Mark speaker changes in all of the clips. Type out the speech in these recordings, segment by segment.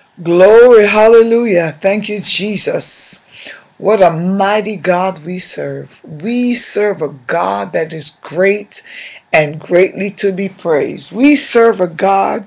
Speaker 1: Glory, hallelujah. Thank you, Jesus. What a mighty God we serve. We serve a God that is great and greatly to be praised. We serve a God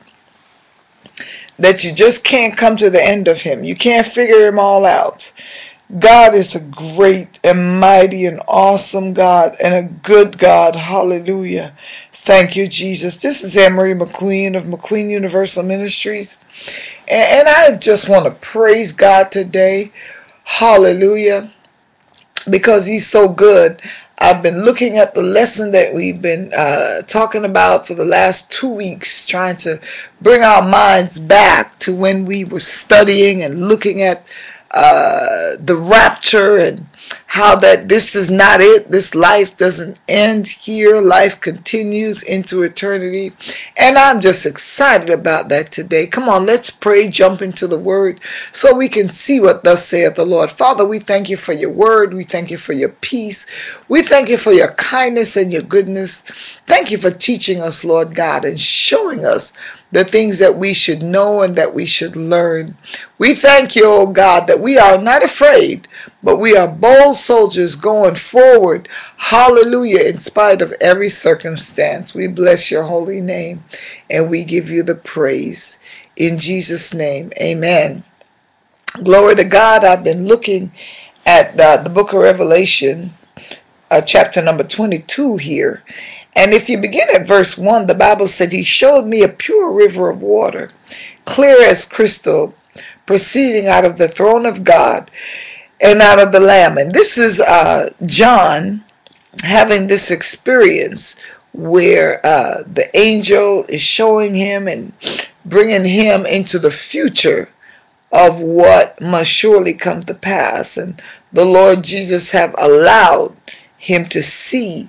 Speaker 1: that you just can't come to the end of him. You can't figure him all out. God is a great and mighty and awesome God and a good God. Hallelujah. Thank you, Jesus. This is Anne-Marie McQueen of McQueen Universal Ministries. And I just want to praise God today. Hallelujah. Because he's so good. I've been looking at the lesson that we've been talking about for the last 2 weeks, trying to bring our minds back to when we were studying and looking at the rapture and how that this is not it. This life doesn't end here. Life continues into eternity. And I'm just excited about that today. Come on, let's pray, jump into the word so we can see what thus saith the Lord. Father, we thank you for your word. We thank you for your peace. We thank you for your kindness and your goodness. Thank you for teaching us, Lord God, and showing us the things that we should know and that we should learn. We thank you, oh God, that we are not afraid, but we are bold soldiers going forward. Hallelujah, in spite of every circumstance. We bless your holy name and we give you the praise. In Jesus' name, amen. Glory to God. I've been looking at the book of Revelation, chapter number 22 here. And if you begin at verse 1, the Bible said, he showed me a pure river of water, clear as crystal, proceeding out of the throne of God and out of the Lamb. And this is John having this experience where the angel is showing him and bringing him into the future of what must surely come to pass. And the Lord Jesus have allowed him to see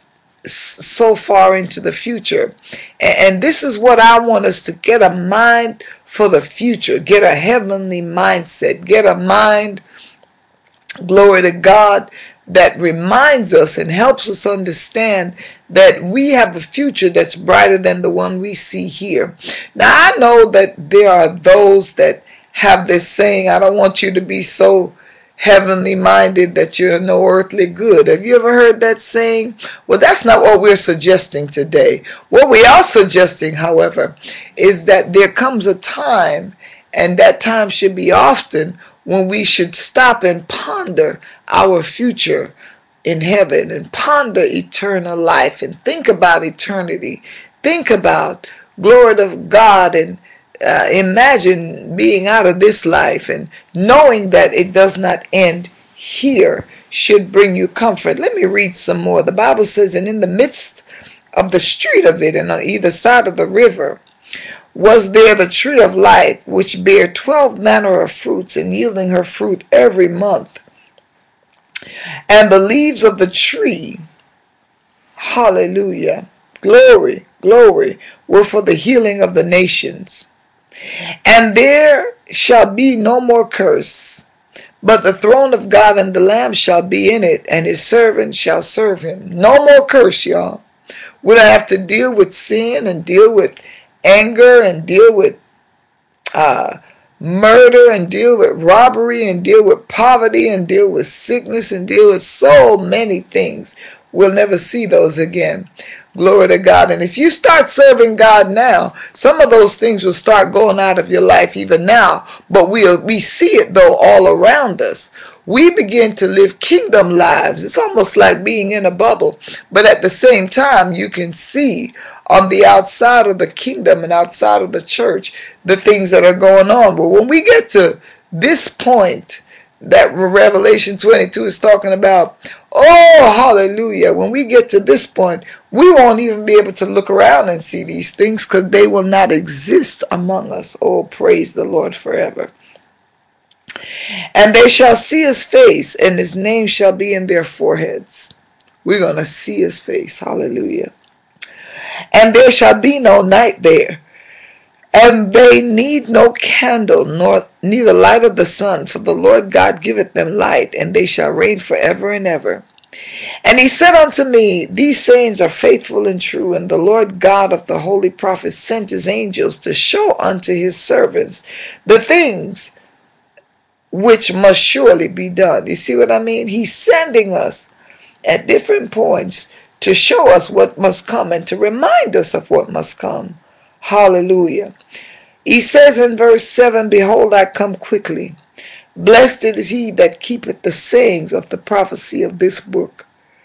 Speaker 1: so far into the future. And this is what I want us to get: a mind for the future, get a heavenly mindset, get a mind, glory to God, that reminds us and helps us understand that we have a future that's brighter than the one we see here. Now I know that there are those that have this saying, I don't want you to be so heavenly minded that you're no earthly good. Have you ever heard that saying? Well, that's not what we're suggesting today. What we are suggesting, however, is that there comes a time, and that time should be often, when we should stop and ponder our future in heaven and ponder eternal life and think about eternity. Think about glory to God and imagine being out of this life and knowing that it does not end here should bring you comfort. Let me read some more. The Bible says, and in the midst of the street of it and on either side of the river was there the tree of life, which bare 12 manner of fruits, and yielding her fruit every month. And the leaves of the tree, hallelujah, glory, glory, were for the healing of the nations. And there shall be no more curse, but the throne of God and the Lamb shall be in it, and his servants shall serve him. No more curse, y'all. We don't have to deal with sin and deal with anger and deal with murder and deal with robbery and deal with poverty and deal with sickness and deal with so many things. We'll never see those again. Glory to God. And if you start serving God now, some of those things will start going out of your life even now. But we see it though all around us. We begin to live kingdom lives. It's almost like being in a bubble. But at the same time, you can see on the outside of the kingdom and outside of the church the things that are going on. But when we get to this point that Revelation 22 is talking about, oh, hallelujah, when we get to this point, we won't even be able to look around and see these things because they will not exist among us. Oh, praise the Lord forever. And they shall see his face, and his name shall be in their foreheads. We're going to see his face. Hallelujah. And there shall be no night there. And they need no candle, nor neither light of the sun, for the Lord God giveth them light, and they shall reign forever and ever. And he said unto me, these sayings are faithful and true, and the Lord God of the holy prophets sent his angels to show unto his servants the things which must surely be done. You see what I mean? He's sending us at different points to show us what must come and to remind us of what must come. Hallelujah. He says in verse 7, behold, I come quickly. Blessed is he that keepeth the sayings of the prophecy of this book.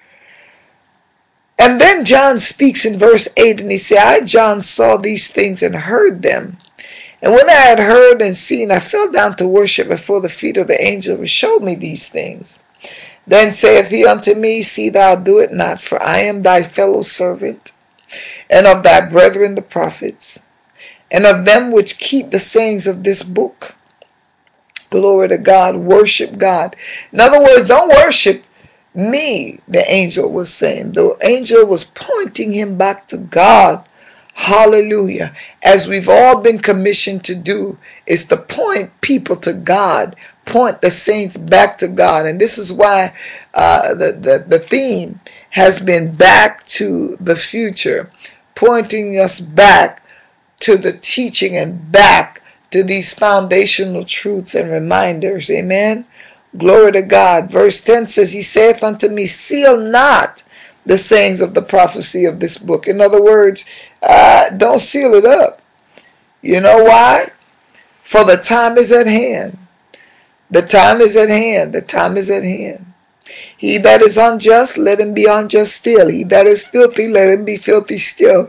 Speaker 1: And then John speaks in verse 8, and he said, I, John, saw these things and heard them. And when I had heard and seen, I fell down to worship before the feet of the angel who showed me these things. Then saith he unto me, see thou do it not, for I am thy fellow servant, and of thy brethren the prophets, and of them which keep the sayings of this book. Glory to God. Worship God. In other words, don't worship me, the angel was saying. The angel was pointing him back to God. Hallelujah. As we've all been commissioned to do, is to point people to God, point the saints back to God. And this is why the theme has been back to the future, pointing us back to the teaching and back to these foundational truths and reminders. Amen. Glory to God. Verse 10 says, he saith unto me, seal not the sayings of the prophecy of this book. In other words, don't seal it up. You know why? For the time is at hand. The time is at hand. The time is at hand. He that is unjust, let him be unjust still. He that is filthy, let him be filthy still.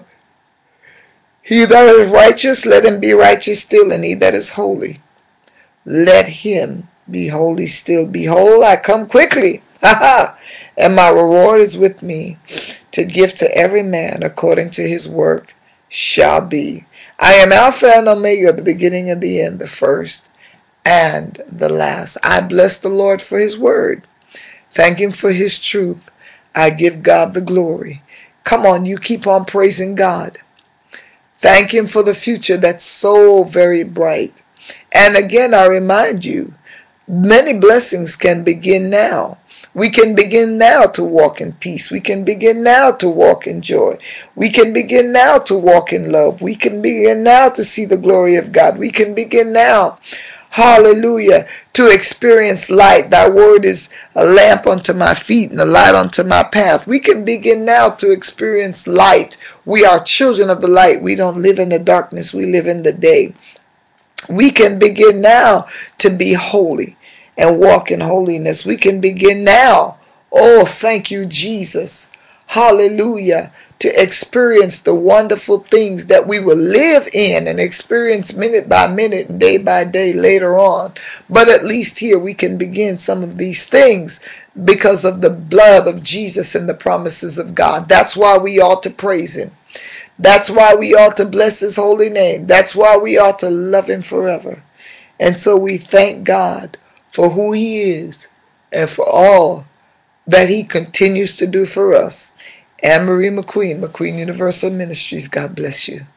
Speaker 1: He that is righteous, let him be righteous still. And he that is holy, let him be holy still. Behold, I come quickly. And my reward is with me, to give to every man according to his work shall be. I am Alpha and Omega, the beginning and the end, the first and the last. I bless the Lord for his word. Thank him for his truth. I give God the glory. Come on, you keep on praising God. Thank him for the future that's so very bright. And again, I remind you, many blessings can begin now. We can begin now to walk in peace. We can begin now to walk in joy. We can begin now to walk in love. We can begin now to see the glory of God. We can begin now, hallelujah, to experience light. Thy word is a lamp unto my feet and a light unto my path. We can begin now to experience light. We are children of the light. We don't live in the darkness. We live in the day. We can begin now to be holy and walk in holiness. We can begin now, oh, thank you, Jesus, hallelujah, to experience the wonderful things that we will live in and experience minute by minute and day by day later on. But at least here we can begin some of these things because of the blood of Jesus and the promises of God. That's why we ought to praise him. That's why we ought to bless his holy name. That's why we ought to love him forever. And so we thank God for who he is and for all that he continues to do for us. Anne Marie McQueen, McQueen Universal Ministries, God bless you.